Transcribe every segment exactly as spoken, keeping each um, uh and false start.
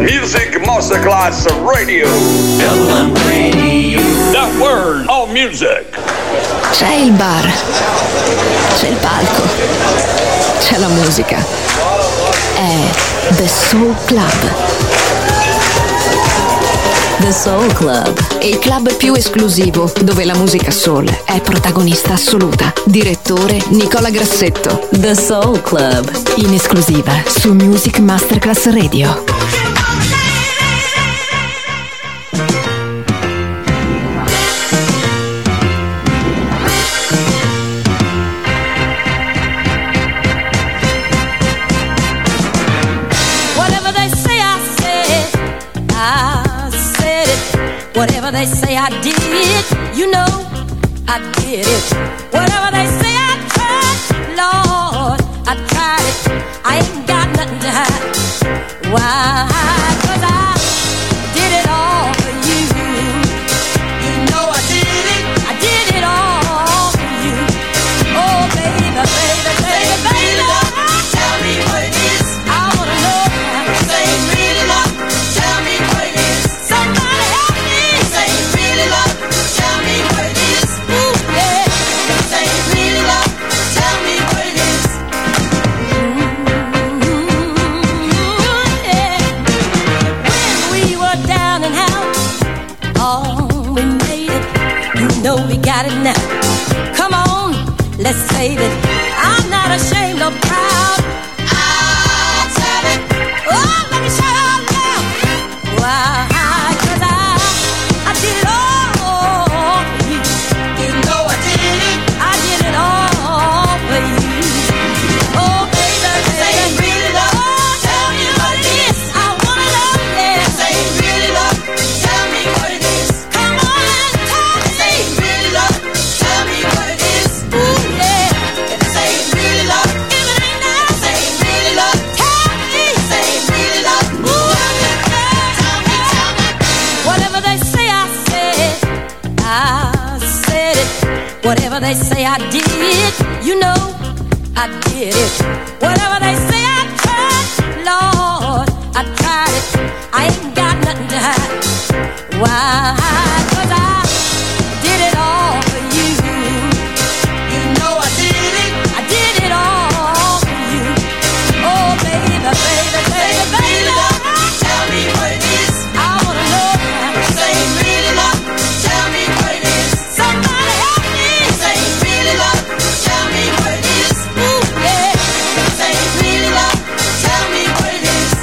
Music Masterclass Radio. L M Radio. The word of music. C'è il bar, c'è il palco, c'è la musica. È The Soul Club. The Soul Club, il club più esclusivo dove la musica soul è protagonista assoluta. Direttore Nicola Grassetto. The Soul Club, in esclusiva su Music Masterclass Radio. Whatever they say I did, you know I did it. Whatever they say I tried, Lord, I tried it. I ain't got nothing to hide. Why? 'Cause I did it all for you. You know I did it. I did it all for you. Oh, baby, baby, baby, baby, tell me what it is. I wanna know now. Say really love. Tell me what it is. Somebody help me. Say really love. Tell me what it is. Ooh, yeah. Say really love. Tell me what it is. Ooh, yeah. When we were down and out, oh, we made it. You know we got it now. Come on, let's save it. I'm not ashamed or proud. I'll tell it. Oh, let me shout out loud. Why? 'Cause I, I did it all for you. You know I did it. I did it all for you. Oh, baby, say really love. Tell me what it is. I wanna know, yeah. Say really love. Tell me what it is. Come on and tell me. Say really love. Tell me what it is. Ooh, yeah. Say really love. If it ain't now, say really love. Tell me. Say really love. Ooh, yeah. Tell me, tell me. Whatever they say I said, I said it. Whatever they say I did, you know I did it. Whatever they say I tried, Lord, I tried it. I ain't got nothing to hide. Why? 'Cause I did it all for you. You know I did it. I did it all for you. Oh, baby, baby, baby, baby, tell me what it is. I wanna know now. Say really love. Tell me what it is. Somebody help me. Say really love. Tell me what it is. Ooh, yeah. Say really love. Tell me what it is.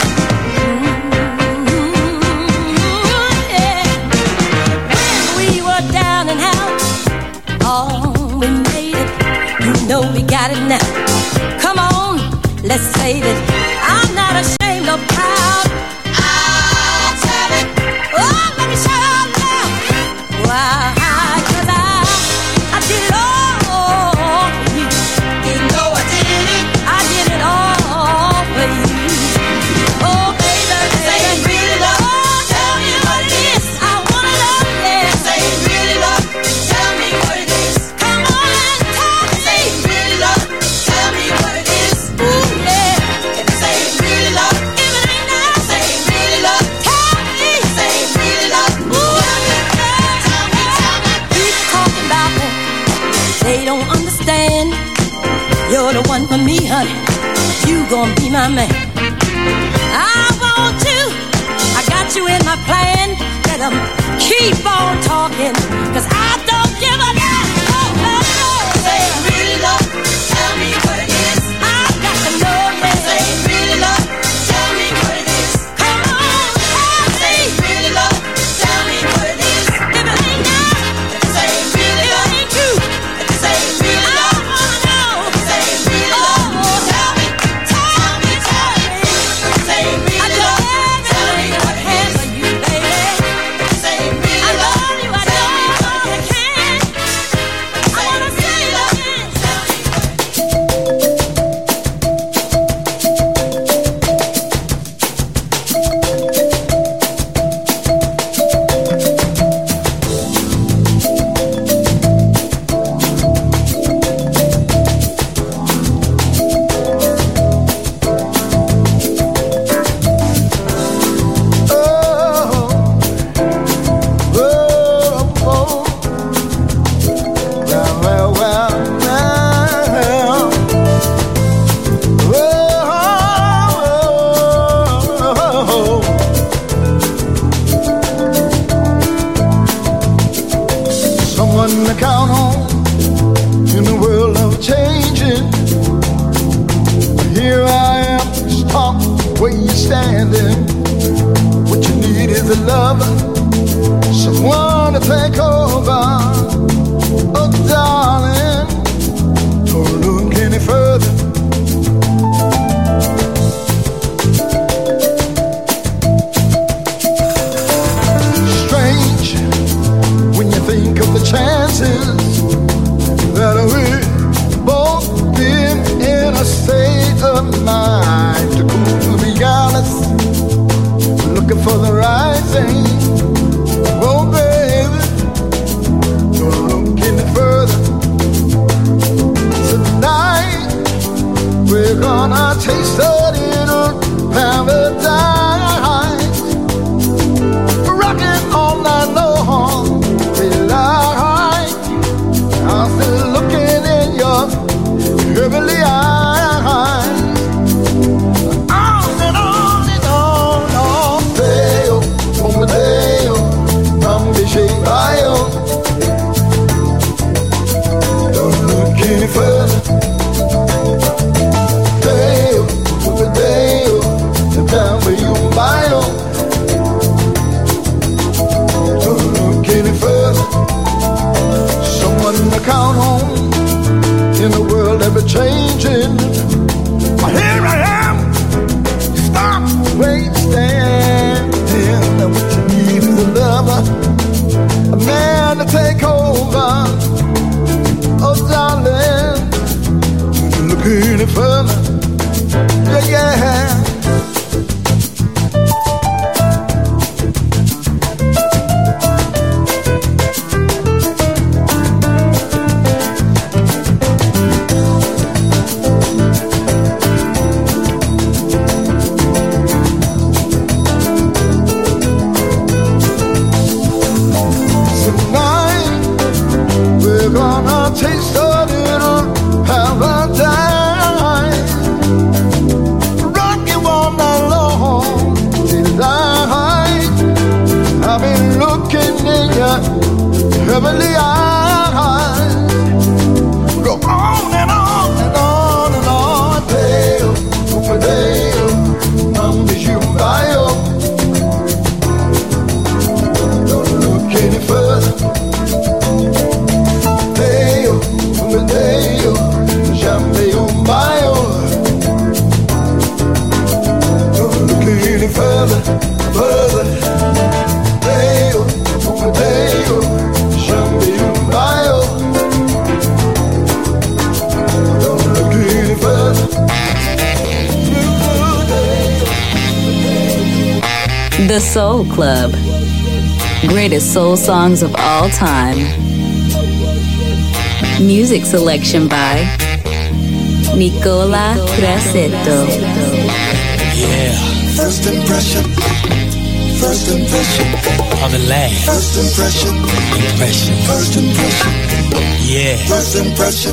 Ooh, yeah. When we were down and out, oh, we made it. You know we got it now. Come on, let's save it. I'm not ashamed or proud. I'll tell it. Oh, let me shout out loud. Why? 'Cause I, I did it all for you. You know I did it. I did it all for you. Oh, baby, say really love. Tell me what it is. I wanna know, yeah. Say really love. Tell me what it is. Come on and tell me. Say really love. Tell me what it is. Ooh, yeah. Say really love. If it ain't now, say really love. Tell me. Say really love. Ooh, yeah. Tell me, tell me. People talking about me, they don't understand. You're the one for me, honey. You gon' be my man. I want you. I got you in my plan. Let them keep on talking, 'cause I don't give a damn. Oh, oh, oh. Say really love. Tell me what it is. I got to know, yeah. Say really love. Tell me what it is. Come on, tell me. Say really love. Tell me what it is. If it ain't now, say really love. If it ain't true, say really love. I wanna know. Say really love. Tell me, tell me, tell me. Say really love. Tell me what it is. I love What you need is a lover, someone to take over. Oh, darling, don't look any further. Strange when you think of the chances that we've both been in a state of mind. To be honest, looking for the right thing. Oh, baby, don't look any further. Tonight, we're gonna taste a little paradise. Rocking all night long, daylight. I'm still looking in your heavenly eyes. On and on and on, on. Deo, come Deo, come be shaped by you. Don't look any further. Deo, come Deo, the time for you by you. Don't look any further. Someone to count on in a world ever changing. Here I am. Stop, wait, stand. And what you need is a lover, a man to take over. Oh, darling, don't look any further. Yeah, yeah. Taste a little paradise. Rock you all night long, delight. I've been looking in your heavenly eyes. Go on and on and on and on. Deo, over Deo, I'm with you by you. Don't look any further. Deo, jamais un baio. Don't look any further, further. Deo, Deo, jamais un baio. Don't look any further. The Soul Club. Greatest soul songs of all time. Music selection by Nicola Grassetto. Yeah. First impression. First impression. On the last. First impression. Impression. First impression. Yeah. First impression.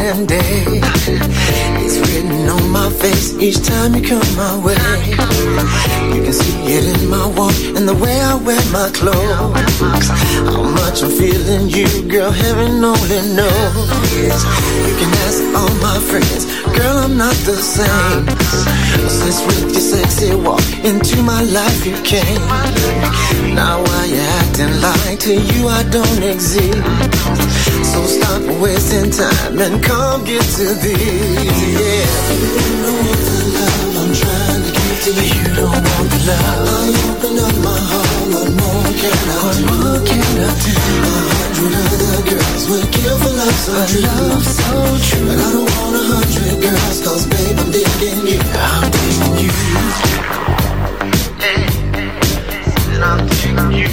and day. It's written on my face each time you come my way. You can see it in my walk and the way I wear my clothes. How much I'm feeling you, girl, heaven only knows. You can ask all my friends, girl, I'm not the same. Since with your sexy walk into my life you came. Now why you acting like to you I don't exist? So stop wasting time and come get to this. Yeah. You don't know the love I'm trying to give to you. You don't want the love. I open up my heart. What more can I what do? What more can I do? A hundred other girls would kill for love so true. Love so true. But I don't want a hundred girls, cause babe I'm digging you. I'm digging you. Hey, and I'm digging you.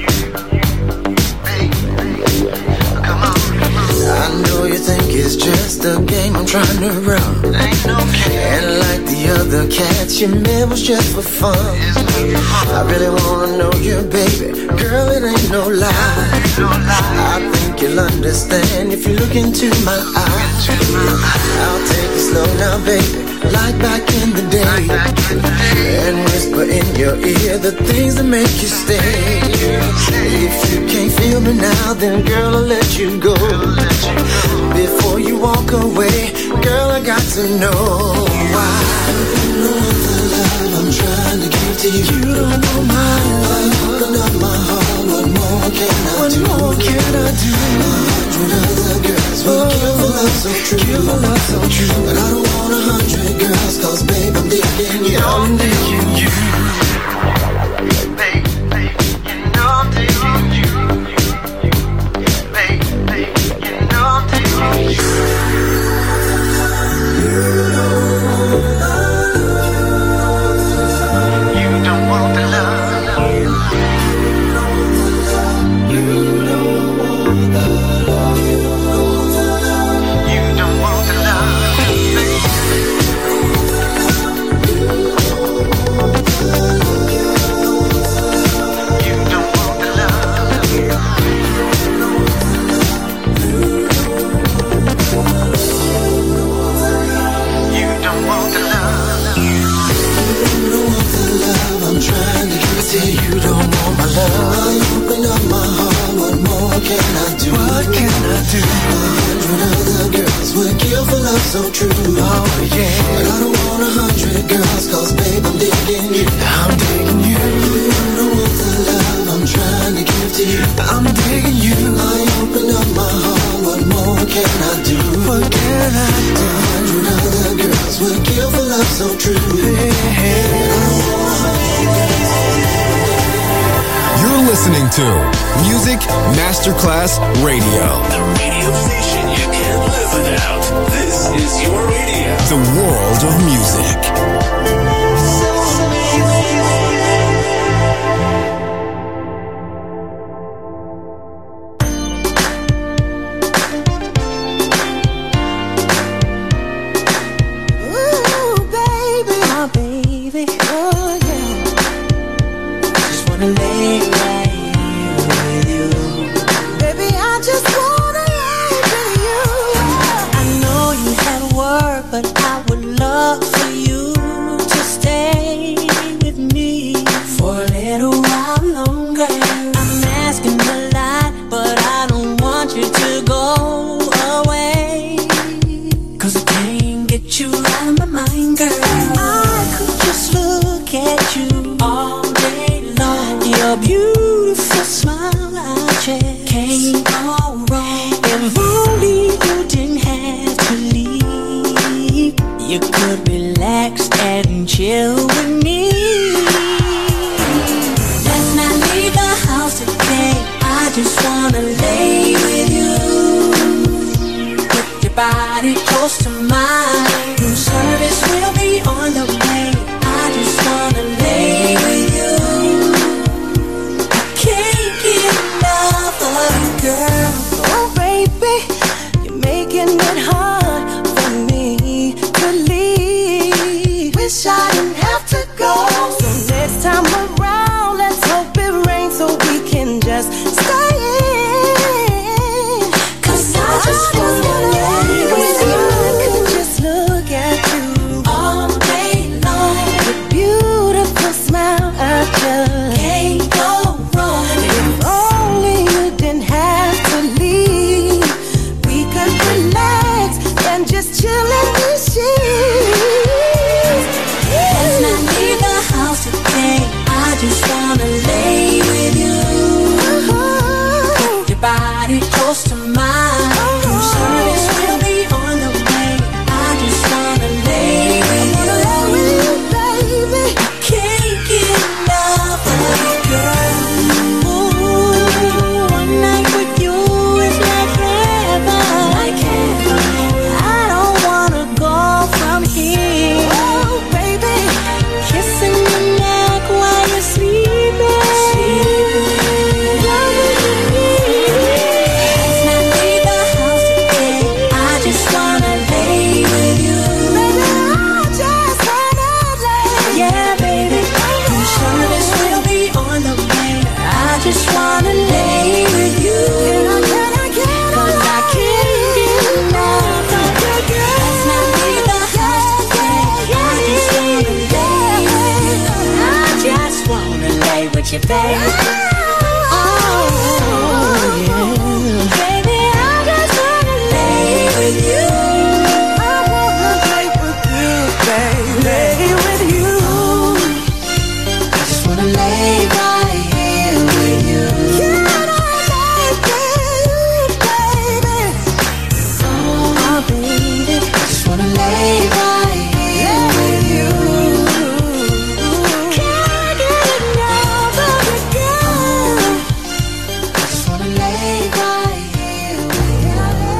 I know you think it's just a game I'm trying to run. Ain't no game. And like the other cats you met was just for fun. I really wanna know you, baby. Girl, it ain't no lie. I think you'll understand if you look into my eyes. I'll take it slow now, baby, like back in the day, and whisper in your ear the things that make you stay. If you can't feel me now, then girl, I'll let you go. Before you walk away, girl, I got to know why. You know the love I'm trying to give to you. You don't know my love. Open up my heart. What more can I what do? What more can I do? A hundred other girls will oh, give a love so true. Give a love so true. But I don't want a hundred girls, cause babe I'm digging you. I'm digging you. Babe, babe, you know I'm digging you. Babe, babe, you know I'm digging you. You don't want the love. You don't want my love. Open up my heart. What more can I do? What can I do? A hundred other girls would kill for love so true. Oh yeah. But I don't want a hundred girls, cause babe I'm digging you. I'm digging you. You know the love I'm trying to give to you. I'm digging you. I open up my heart. What more can I do? What can I do? A hundred other girls would kill for love so true. Yeah. You're listening to Music Masterclass Radio. The radio station you can't live without. This is your radio. The world of music. Stay in, 'cause I just wanna lay with you. with you, baby. Oh, yeah. Baby, I just wanna lay with you. I wanna lay with you, baby. Lay with you. I just wanna lay right here with you. Can I lay with you, baby? Oh, baby, I just wanna lay right here with you. Can't get enough of you, girl. I just wanna lay right here with you.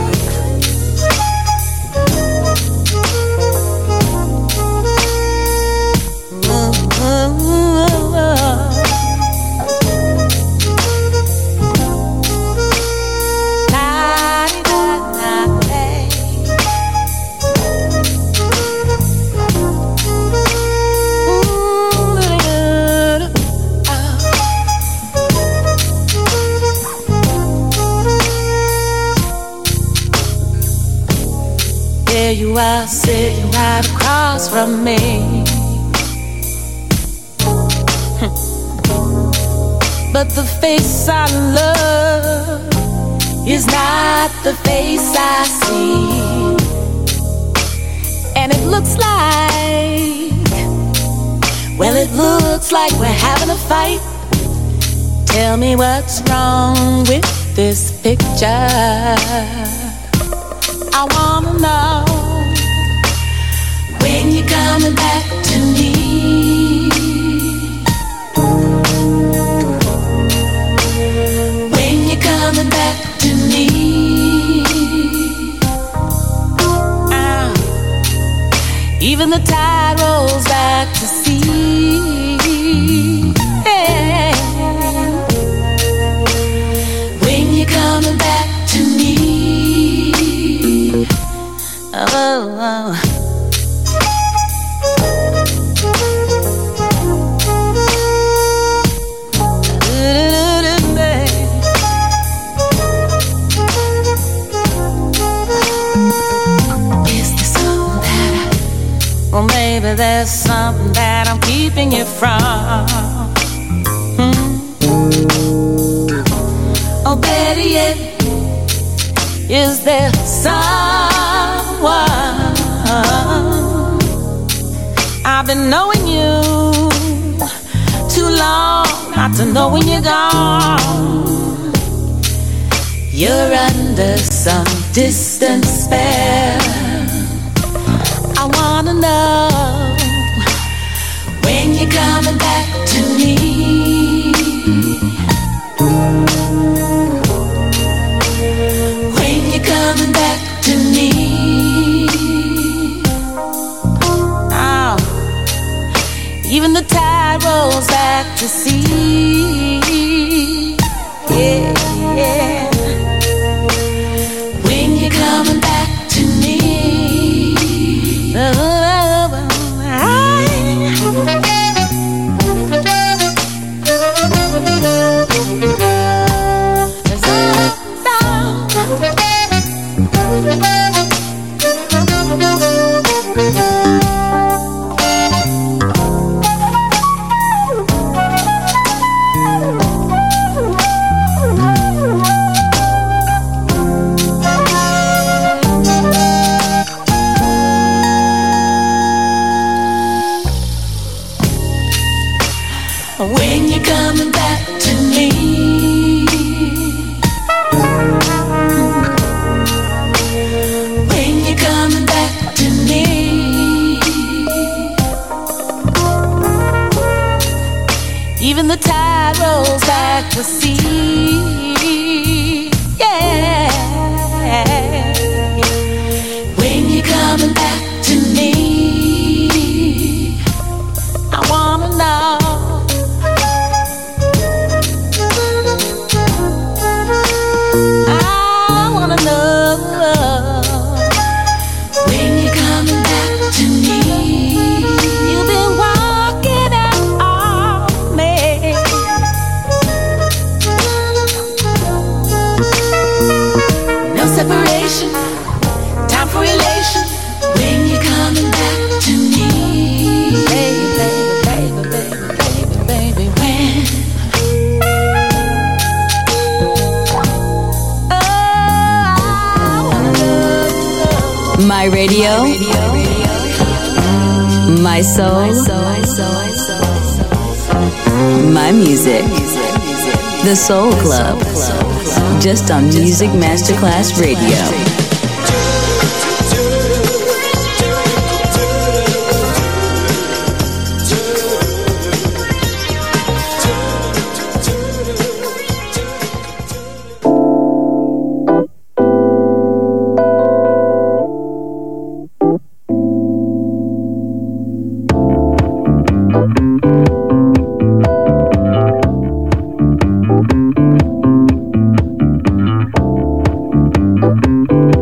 There you are, sitting right across from me. But the face I love is not the face I see. And it looks like, well, it looks like we're having a fight. Tell me what's wrong with this picture. I wanna know when you're coming back to me. When you're coming back to me. Ah, even the tide rolls back to sea. Hey. When you're coming back to me. Oh, oh. Is there something that I, well, maybe there's something that I'm keeping you from. Hmm? Oh, better yet, is there someone? I've been knowing you too long not to know when you're gone. You're under some distant spell. I wanna know when you're coming back to me. When you're coming back to me. Oh, even the tide rolls back to sea. Yeah, yeah. When you're coming back to me. Oh, oh, oh, when you're coming back to me. When you're coming back to me. Even the tide rolls back to sea. Yeah. When you're coming back to me. I wanna know. I wanna know when you're coming back to me. You've been walking out on me. My radio, my soul, my music. The Soul Club. Just on Music Masterclass Radio. Thank you.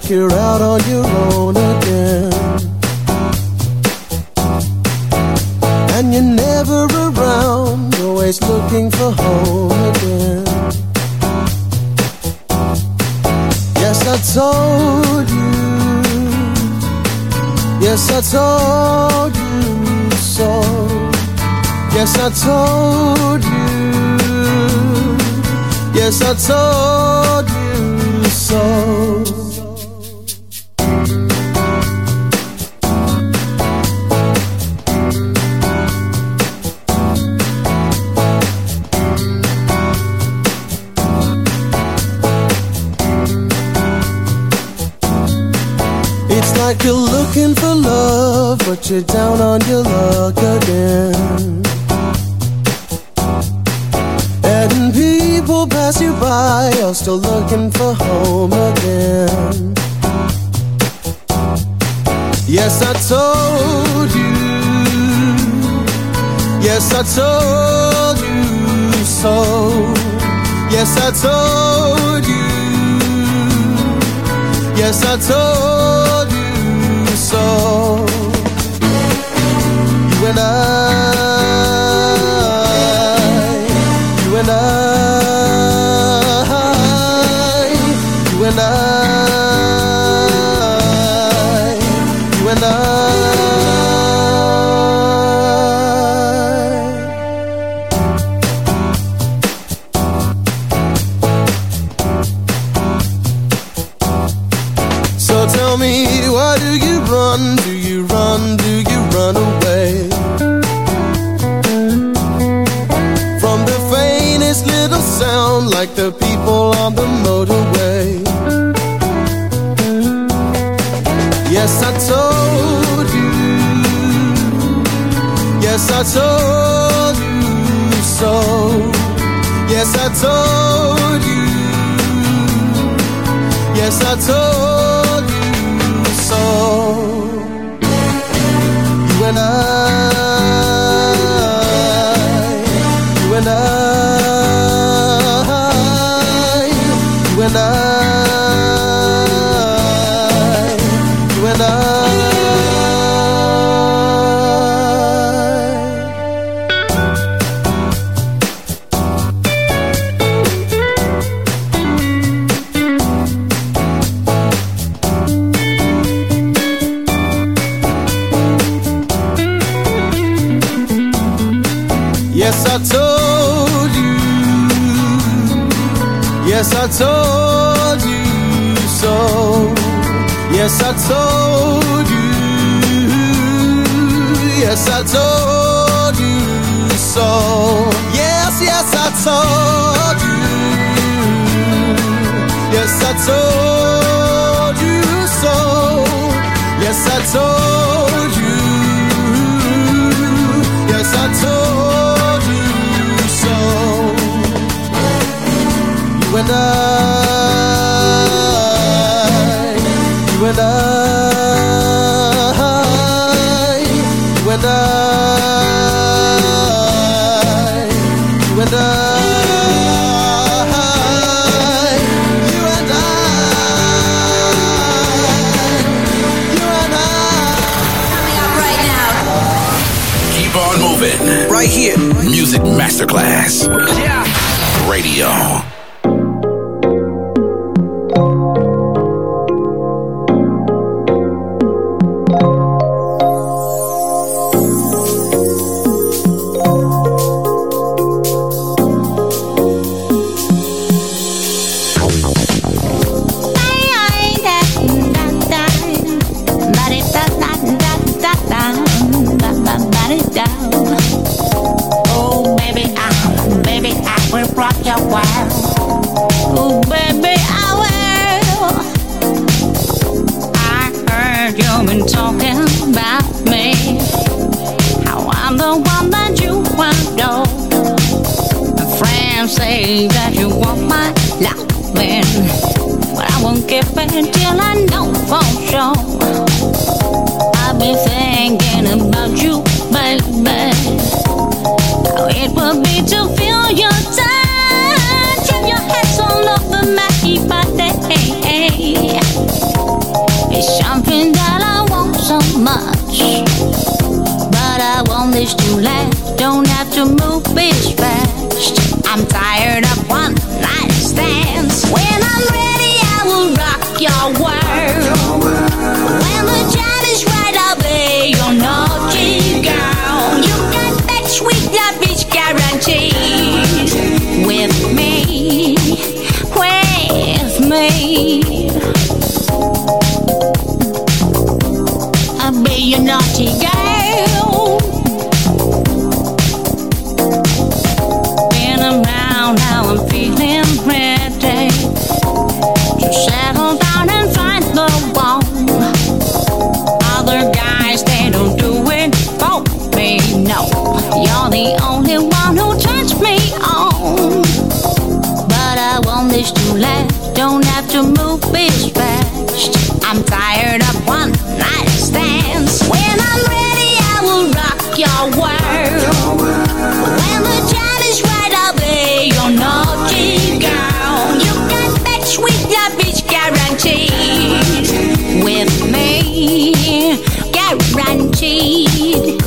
like you're out on your own again. And you're never around, always looking for home again. Yes, I told you. Yes, I told you so. Yes, I told you. Yes, I told you so. It's like you're looking for love, but you're down on your luck again. And people pass you by, you're still looking for home again. Yes, I told you. Yes, I told you so. Yes, I told you. Yes, I told you so. You and I, you and I, you and I, you and I. So tell me, why do you run? Do you run? Do you run away? From the faintest little sound, like the people on the motorway. Yes, I told you. Yes, I told you so. Yes, I told you. Yes, I told you so. You and I, you and I, you and I, you and I. Yes, I told you. Yes, I told you so. Yes, I told you. Yes, I told you so. Yes, yes, I told you. Yes, I told you so. Yes, I told you. Yes, I told you so. You and I, you and I, you and I, you and I, you and I, you and I. Coming up right now. Keep on moving. Right here. Music Masterclass. Yeah. Radio. Oh baby, I, baby, I will rock your world. Oh baby, I will. I heard you've been talking about me, how I'm the one that you adore. My friends say that you want my loving, but I won't give it till I know for sure. I've been thinking about you, baby, how it would be to feel your touch and your hands all over my body. this to last. Don't have to move bitch fast. I'm tired of one night stands. When I'm ready, I will rock your world. When the time is right, I'll be your naughty girl. You got that sweet love bitch guarantee. With me, with me, I'll be your naughty girl. Been around, now I'm feeling ready to settle down and find the one. Other guys, they don't do it for me, no. You're the only one who turns me on. But I want this to last. Don't have to move bitch fast. I'm tired of one night stands. When I'm ready, I will rock your world. When the time is right, I'll be your naughty girl. You got that sweet love bitch guaranteed. With me, guaranteed.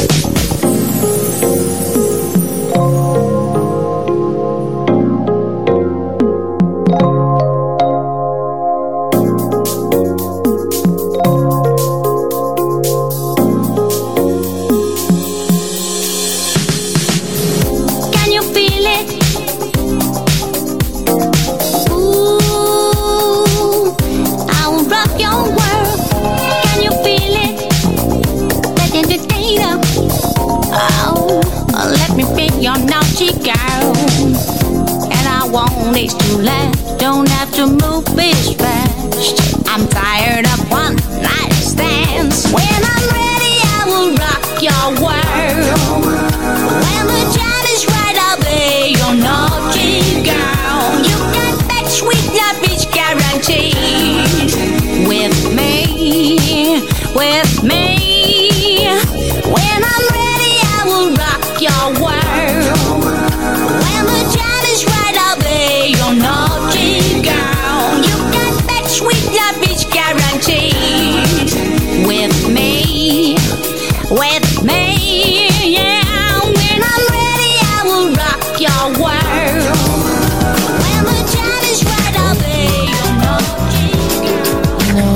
Your naughty girl, and I want it to last. Don't have to move bitch fast. I'm tired of one night stands. When I'm ready, I will rock your world. When the time is right, I'll be your naughty girl. You got that sweet love bitch guaranteed. With me, with me. When I'm ready, I will rock your world. When the time is right, I'll be your naughty girl. You got that sweet love bitch guaranteed. With me, with me, yeah. When I'm ready, I will rock your world. When the time is right, I'll be your naughty girl. No,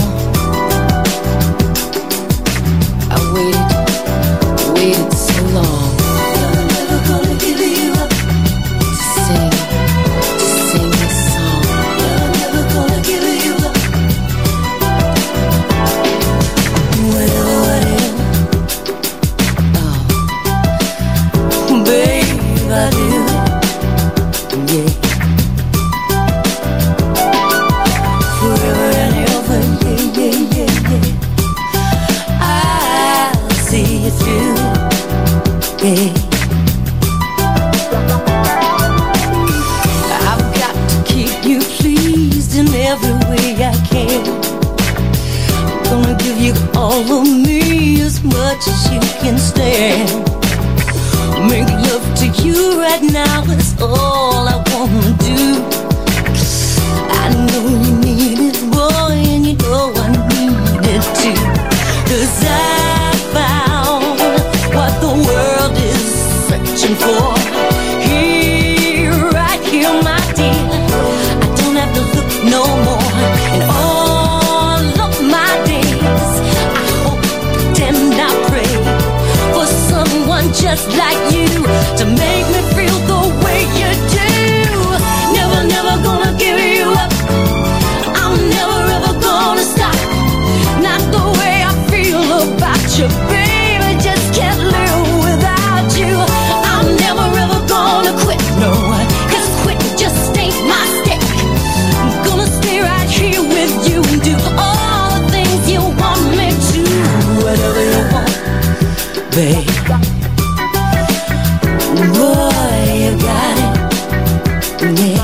I waited, waited so long. I've got to keep you pleased in every way I can. I'm gonna give you all of me as much as you can stand. Make love to you right now is all I wanna do. I know you need it, boy, and you know I need it too. 'Cause I found what the world is searching for. Here, right here, my dear. I don't have to look no more. In all of my days, I hope and I pray for someone just like you to make me feel the way you do. Never, never gonna give you up. I'm never ever gonna stop. Not the way I feel about you, baby. Just can't live without you. I'm never ever gonna quit, no. 'Cause quitting just ain't my stick. I'm gonna stay right here with you and do all the things you want me to. Whatever you want, babe. Boy, you got it, yeah.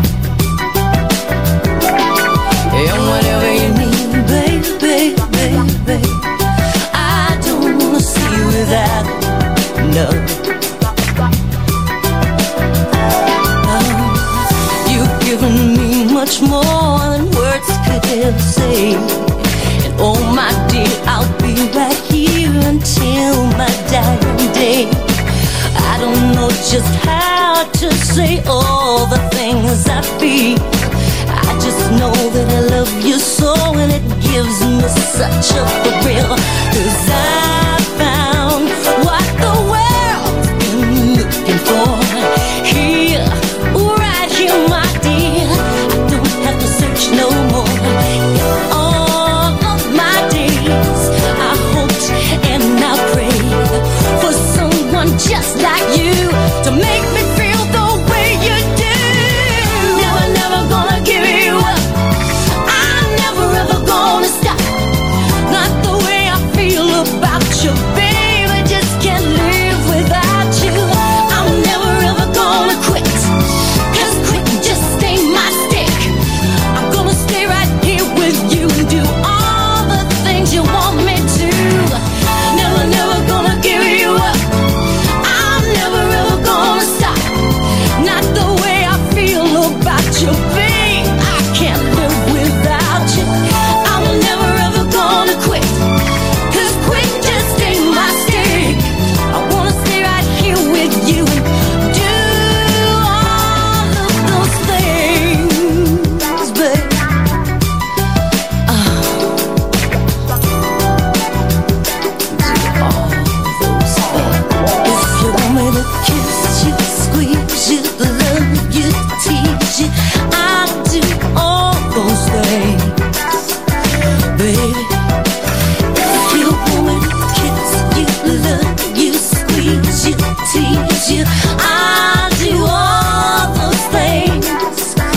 And whatever you need, babe, babe, babe, babe. I don't wanna see you without it, no. No. You've given me much more than words could ever say. And oh my dear, I'll be right here until my dying day. day. I don't know just how to say all the things I feel. I just know that I love you so, and it gives me such a thrill. 'Cause I found what the world's been looking for. Here, right here, my dear. I don't have to search no more. In all of my days, I hoped and I prayed for someone just like you to make me feel the way you do. Never, never gonna give you up. I'm never ever gonna stop. Not the way I feel about you, baby. Just can't live without you. I'm never ever gonna quit. 'Cause quitting just ain't my stick. I'm gonna stay right here with you and do all the things you want me to. Never, never gonna give you up. I'm never ever gonna stop. Not the way I feel about you, babe. I can't live without you. I'm never ever gonna quit. 'Cause quit just ain't my stick. I wanna stay right here with you and do all of those things, babe. Oh. Do all those things. If you want me to kiss you, squeeze you, love you, tease you, I'll do all those things, baby. If you want me to kiss you, love you, squeeze you, tease you, I'll do all those things,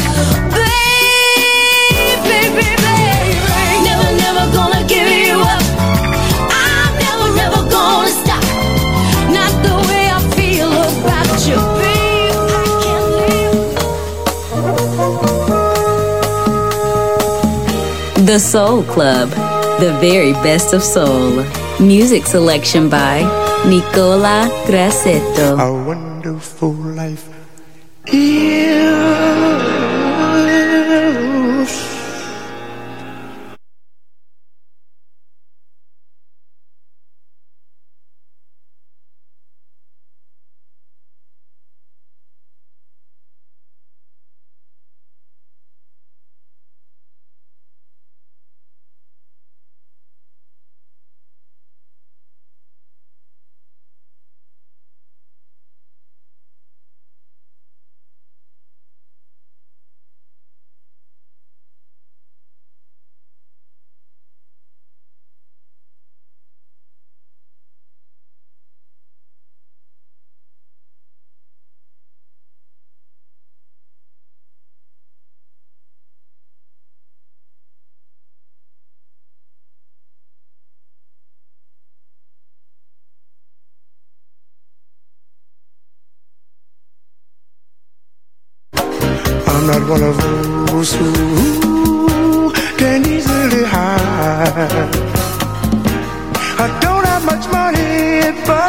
baby, baby, baby. Never, never gonna give you up. I'm never, ever gonna stop. Not the way I feel about you, babe. I can't live. The Soul Club, the very best of soul. Music selection by Nicola Grassetto. A wonderful life is. I'm not one of those who can easily hide. I don't have much money, but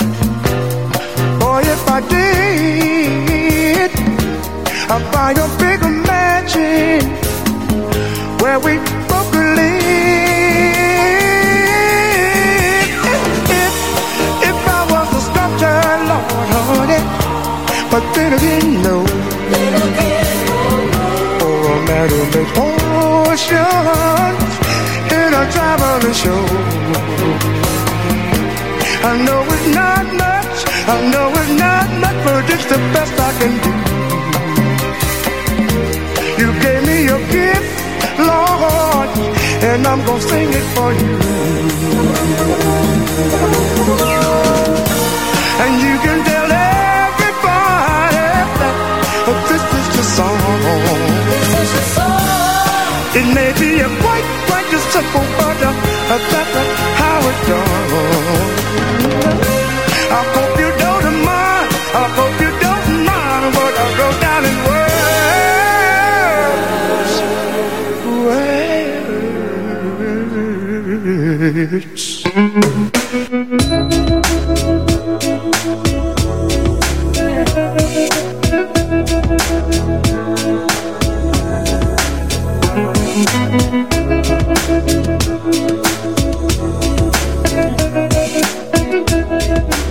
boy, if I did, I'd buy a bigger mansion where we both could live. If, if, if I was a sculptor, Lord, honey, but then again, no. Or a man who makes potions in a traveling show. I know it's not much, I know it's not much, but it's the best I can do. You gave me your gift, Lord, and I'm gonna sing it for you. And you can tell everybody that this is the song. This is the song. It may be a quite, quite a simple, but uh, that's uh, how it's done. I hope you don't mind, I hope you don't mind what I wrote down in words. Words.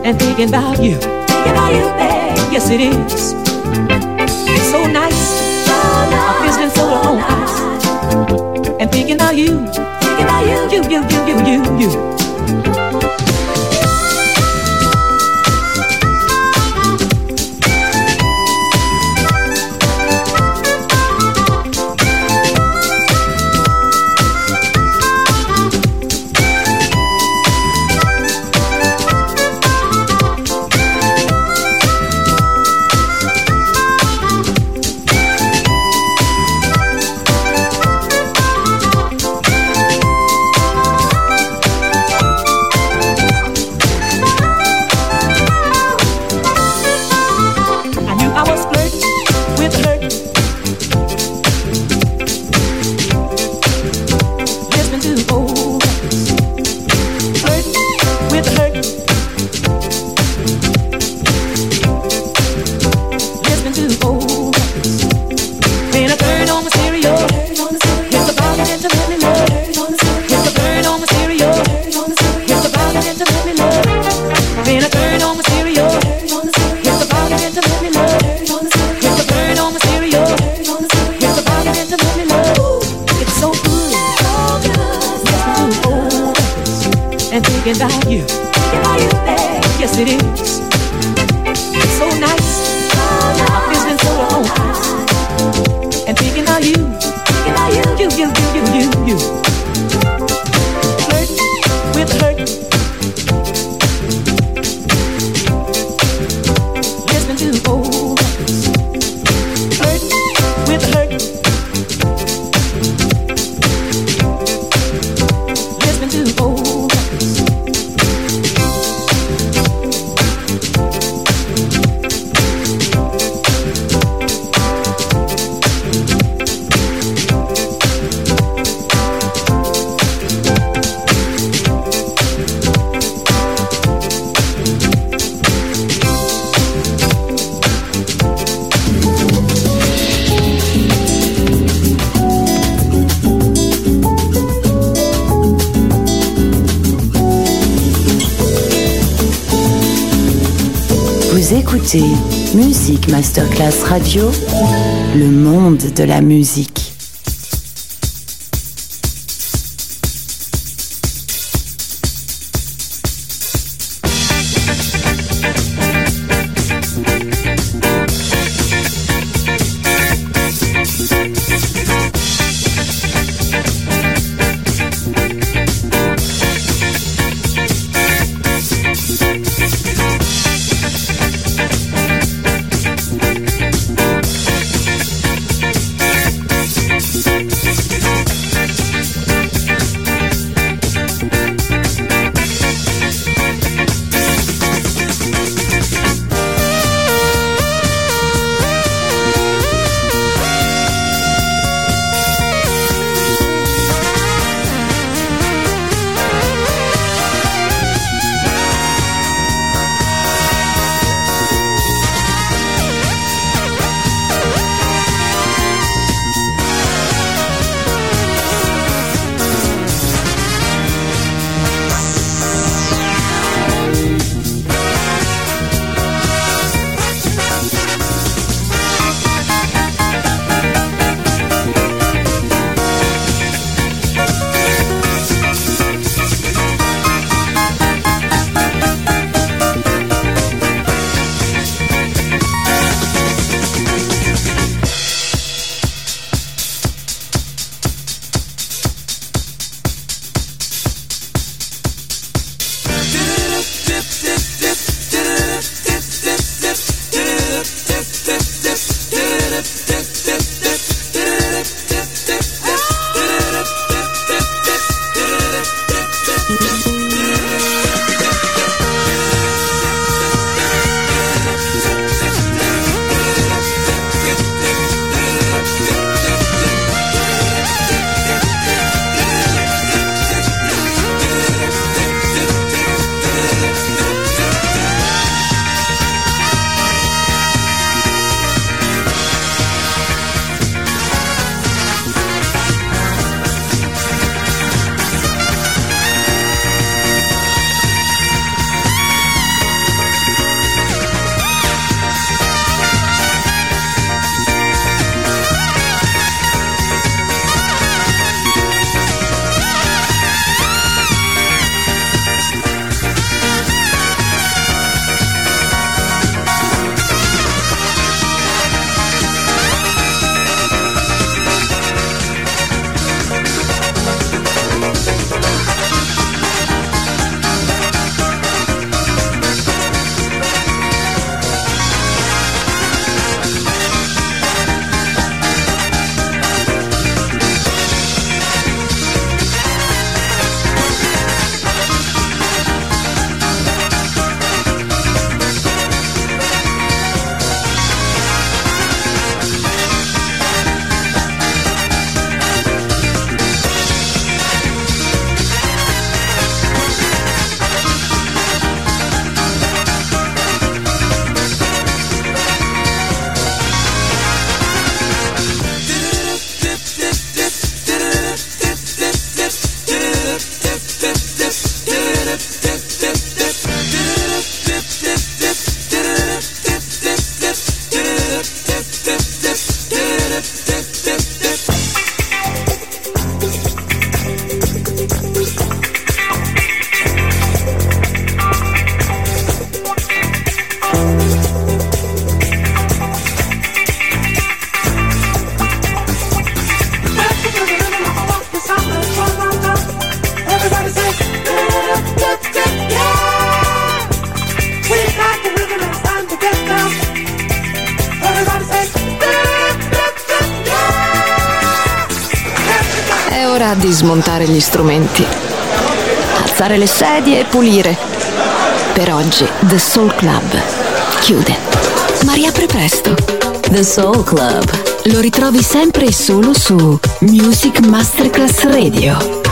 and thinking about you. Thinking about you, babe. Yes, it is. It's so nice. So nice. I'm feeling soda on ice. And thinking about you. Thinking about you. You, you, you, you, you, you. About you, about you, babe. Yes, it is. It's so nice. So nice. I'm feeling soda on ice. And thinking about you, thinking about you, you, you, you, you, you, you. Flirt with hurt. Listen to old records. Flirt with hurt. Listen to old. Vous écoutez Music Masterclass Radio, le monde de la musique. ora di smontare gli strumenti, alzare le sedie e pulire. Per oggi The Soul Club chiude, ma riapre presto. The Soul Club lo ritrovi sempre e solo su Music Masterclass Radio.